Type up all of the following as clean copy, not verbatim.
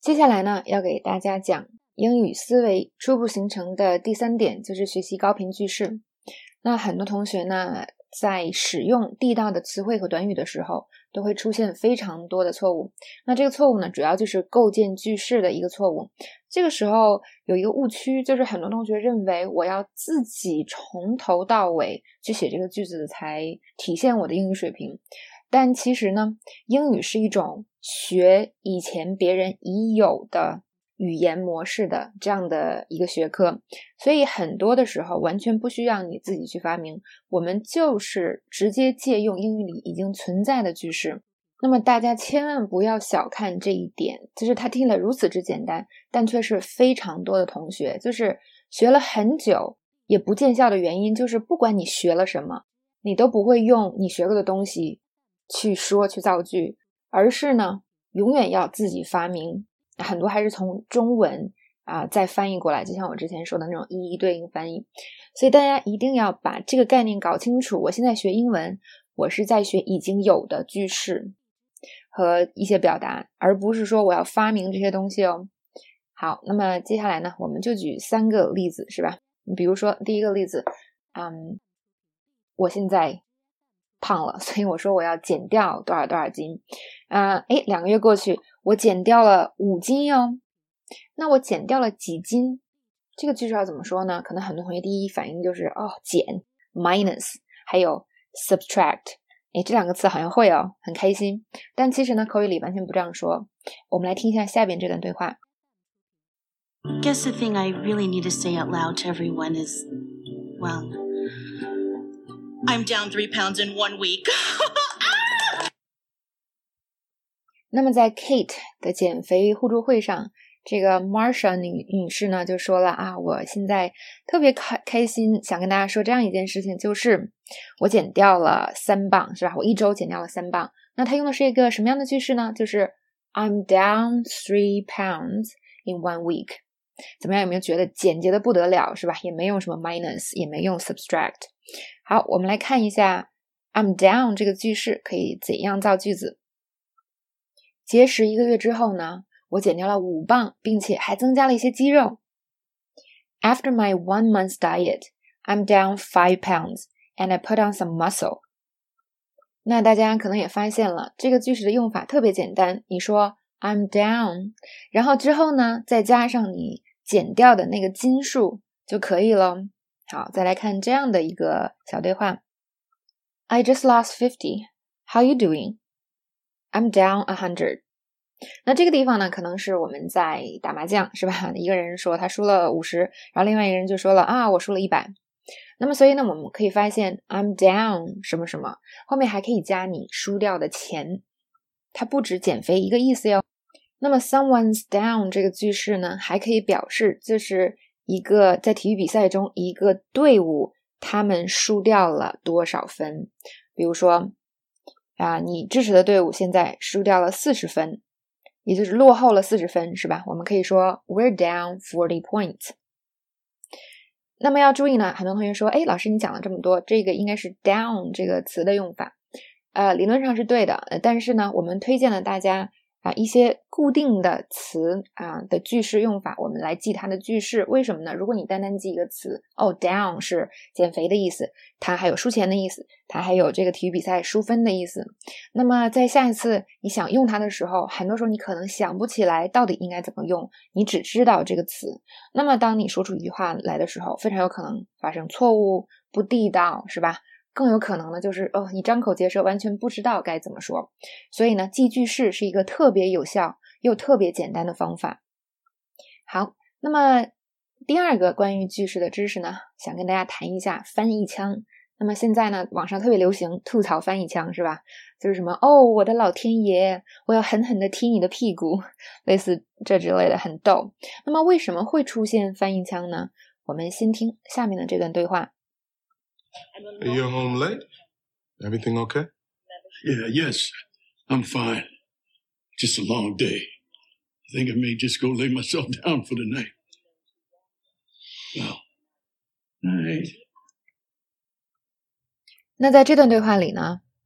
接下来呢，要给大家讲英语思维初步形成的第3点，就是学习高频句式。那很多同学呢，在使用地道的词汇和短语的时候，都会出现非常多的错误。那这个错误呢，主要就是构建句式的一个错误。这个时候有一个误区，就是很多同学认为我要自己从头到尾去写这个句子才体现我的英语水平。但其实呢，英语是一种学以前别人已有的语言模式的这样的一个学科，所以很多的时候完全不需要你自己去发明，我们就是直接借用英语里已经存在的句式。那么大家千万不要小看这一点，就是它听了如此之简单，但却是非常多的同学就是学了很久也不见效的原因，就是不管你学了什么，你都不会用你学过的东西去说去造句，而是呢永远要自己发明，很多还是从中文再翻译过来，就像我之前说的那种一一对应翻译。所以大家一定要把这个概念搞清楚，我现在学英文，我是在学已经有的句式和一些表达，而不是说我要发明这些东西哦。好，那么接下来呢，我们就举3个例子，是吧？比如说第一个例子，我现在胖了，所以我说我要减掉多少多少斤2个月过去，我减掉了5斤哦。那我减掉了几斤？这个句式要怎么说呢？可能很多同学第一反应就是减 minus 还有 subtract， 这2个词好像会很开心，但其实呢口语里完全不这样说。我们来听一下下边这段对话。 Guess the thing I really need to say out loud to everyone is, well, I'm down 3 pounds in 1 week. 那么在 Kate 的减肥互助会上，这个 Marsha 女士呢就说了我现在特别开心，想跟大家说这样一件事情，就是我减掉了3磅，是吧？我1周减掉了3磅。那她用的是一个什么样的句式呢？就是 I'm down 3 pounds in 1 week。 怎么样，有没有觉得简洁的不得了，是吧？也没用什么 minus， 也没用 subtract。 好，我们来看一下 I'm down 这个句式可以怎样造句子。节食1个月之后呢，我减掉了5磅，并且还增加了一些肌肉。 After my 1 month diet, I'm down 5 pounds and I put on some muscle。 那大家可能也发现了，这个句式的用法特别简单，你说 I'm down， 然后之后呢再加上你减掉的那个斤数就可以了。好，再来看这样的一个小对话。 I just lost 50. How you doing? I'm down 100。 那这个地方呢，可能是我们在打麻将，是吧？一个人说他输了50，然后另外一个人就说了我输了100。那么所以呢，我们可以发现 I'm down 什么什么，后面还可以加你输掉的钱，它不止减肥一个意思哟。那么 someone's down 这个句式呢，还可以表示就是一个在体育比赛中一个队伍他们输掉了多少分。比如说你支持的队伍现在输掉了40分，也就是落后了40分，是吧？我们可以说 We're down 40 points。 那么要注意呢，很多同学说老师你讲了这么多，这个应该是 down 这个词的用法理论上是对的，但是呢我们推荐了大家一些固定的词的句式用法，我们来记它的句式。为什么呢？如果你单单记一个词down 是减肥的意思，它还有输钱的意思，它还有这个体育比赛输分的意思，那么在下一次你想用它的时候，很多时候你可能想不起来到底应该怎么用，你只知道这个词，那么当你说出一句话来的时候，非常有可能发生错误，不地道，是吧？更有可能呢就是你张口结舌完全不知道该怎么说。所以呢记句式是一个特别有效又特别简单的方法。好，那么第2个关于句式的知识呢，想跟大家谈一下翻译腔。那么现在呢网上特别流行吐槽翻译腔，是吧？就是什么我的老天爷，我要狠狠地踢你的屁股，类似这之类的，很逗。那么为什么会出现翻译腔呢？我们先听下面的这段对话。 Are you home late? Everything okay? Yeah, yes. I'm fine. Just a long day. I think I may just go lay myself down for the night. Well, night. 那在这段对话里呢，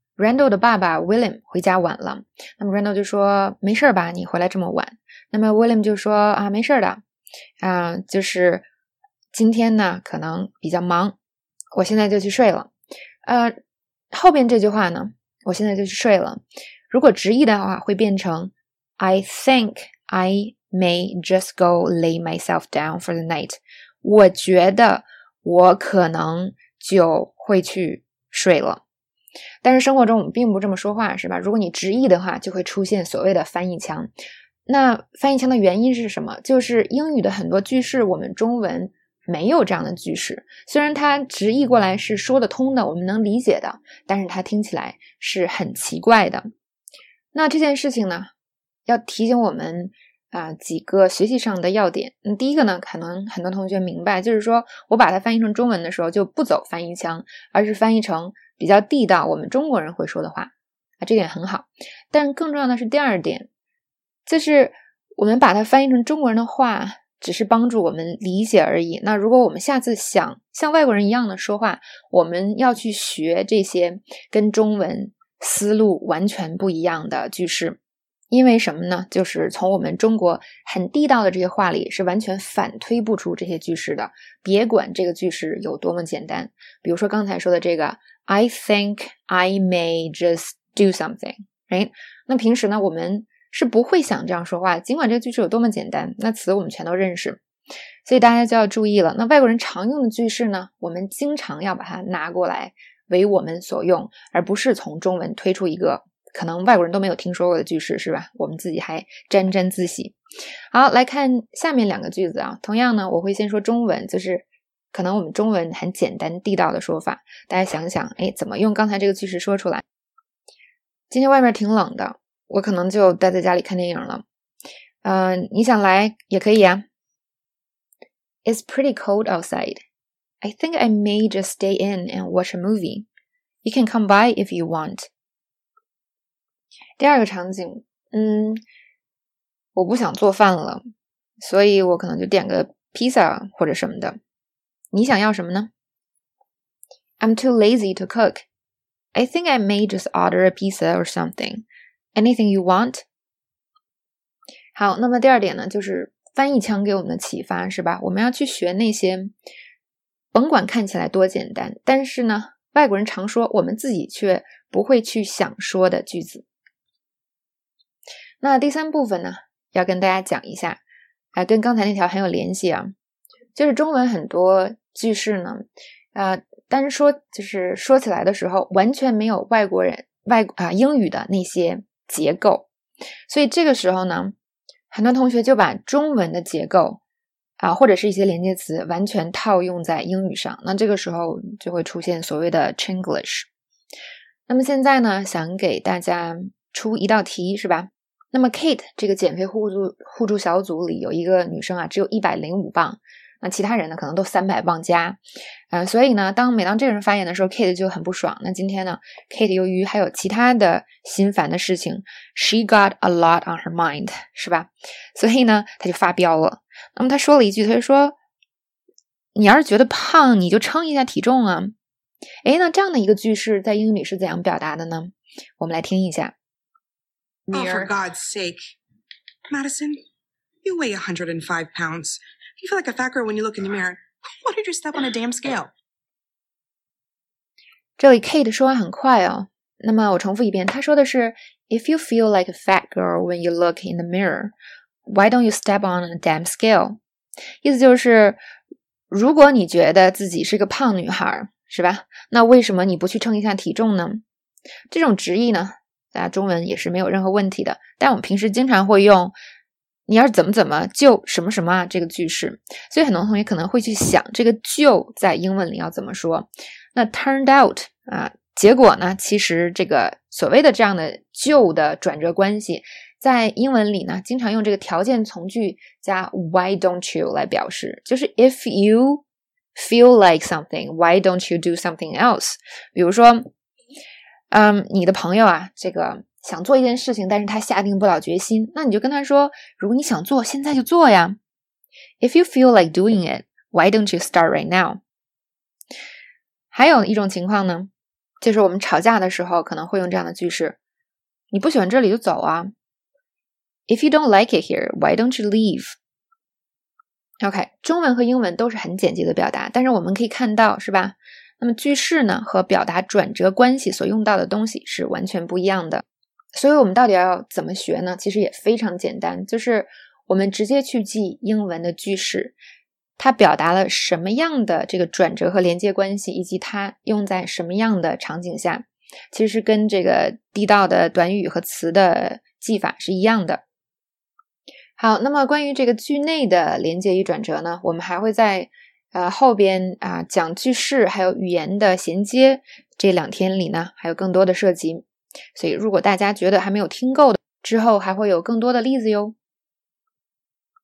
Randall 的爸爸 William 回家晚了，那么 Randall 就说没事吧，你回来这么晚。那么 William 就说啊，没事的，就是今天呢可能比较忙，我现在就去睡了。后边这句话呢，我现在就去睡了，如果直译的话会变成 I think I may just go lay myself down for the night。 我觉得我可能就会去睡了。但是生活中我们并不这么说话，是吧？如果你直译的话，就会出现所谓的翻译腔。那翻译腔的原因是什么？就是英语的很多句式我们中文没有这样的句式，虽然它直译过来是说得通的，我们能理解的，但是它听起来是很奇怪的。那这件事情呢，要提醒我们几个学习上的要点。第一个呢，可能很多同学明白，就是说我把它翻译成中文的时候就不走翻译腔，而是翻译成比较地道我们中国人会说的话这点很好。但更重要的是第二点，就是我们把它翻译成中国人的话只是帮助我们理解而已。那如果我们下次想像外国人一样的说话，我们要去学这些跟中文思路完全不一样的句式。因为什么呢？就是从我们中国很地道的这些话里是完全反推不出这些句式的，别管这个句式有多么简单。比如说刚才说的这个 I think I may just do something， right？ 那平时呢我们是不会想这样说话，尽管这个句式有多么简单，那词我们全都认识，所以大家就要注意了。那外国人常用的句式呢，我们经常要把它拿过来为我们所用，而不是从中文推出一个可能外国人都没有听说过的句式，是吧？我们自己还沾沾自喜。好，来看下面两个句子同样呢我会先说中文，就是可能我们中文很简单地道的说法，大家想想怎么用刚才这个句式说出来。今天外面挺冷的，我可能就待在家里看电影了。你想来也可以啊。It's pretty cold outside. I think I may just stay in and watch a movie. You can come by if you want. 第二个场景，我不想做饭了，所以我可能就点个披萨或者什么的。你想要什么呢？ I'm too lazy to cook. I think I may just order a pizza or something.Anything you want? 好，那么第二点呢，就是翻译腔给我们的启发，是吧？我们要去学那些甭管看起来多简单，但是呢外国人常说我们自己却不会去想说的句子。那第三部分呢，要跟大家讲一下跟刚才那条很有联系就是中文很多句式呢但是就是说起来的时候完全没有外国人英语的那些结构，所以这个时候呢很多同学就把中文的结构或者是一些连接词完全套用在英语上，那这个时候就会出现所谓的 Chinglish。 那么现在呢想给大家出一道题，是吧？那么 Kate 这个减肥互助小组里有一个女生只有105磅，那其他人呢可能都300磅加所以呢每当这个人发言的时候 Kate 就很不爽。那今天呢 Kate 由于还有其他的心烦的事情 She got a lot on her mind， 是吧？所以呢她就发飙了。那么她说了一句，她就说你要是觉得胖你就称一下体重啊。那这样的一个句式在英语里是怎样表达的呢？我们来听一下。 Oh, for God's sake. Madison, you weigh 105 pounds. You feel like a fat girl when you look in the mirror. Why don't you step on a damn scale? 这里 Kate 说话很快那么我重复一遍，她说的是 If you feel like a fat girl when you look in the mirror, why don't you step on a damn scale? 意思就是如果你觉得自己是个胖女孩，是吧？那为什么你不去称一下体重呢？这种直译呢大家中文也是没有任何问题的，但我们平时经常会用你要是怎么就什么什么这个句式，所以很多同学可能会去想这个就在英文里要怎么说。那 turned out 结果呢其实这个所谓的这样的就的转折关系在英文里呢经常用这个条件从句加 why don't you 来表示，就是 if you feel like something, why don't you do something else？ 比如说你的朋友这个想做一件事情，但是他下定不了决心，那你就跟他说，如果你想做，现在就做呀。If you feel like doing it, why don't you start right now？ 还有一种情况呢， 就是我们吵架的时候可能会用这样的句式，你不喜欢这里就走啊。If you don't like it here, why don't you leave? OK， 中文和英文都是很简洁的表达，但是我们可以看到，是吧？那么句式呢和表达转折关系所用到的东西是完全不一样的。所以我们到底要怎么学呢？其实也非常简单，就是我们直接去记英文的句式，它表达了什么样的这个转折和连接关系，以及它用在什么样的场景下，其实是跟这个地道的短语和词的记法是一样的。好，那么关于这个句内的连接与转折呢，我们还会在后边讲句式还有语言的衔接这2天里呢还有更多的涉及，所以如果大家觉得还没有听够的，之后还会有更多的例子哟。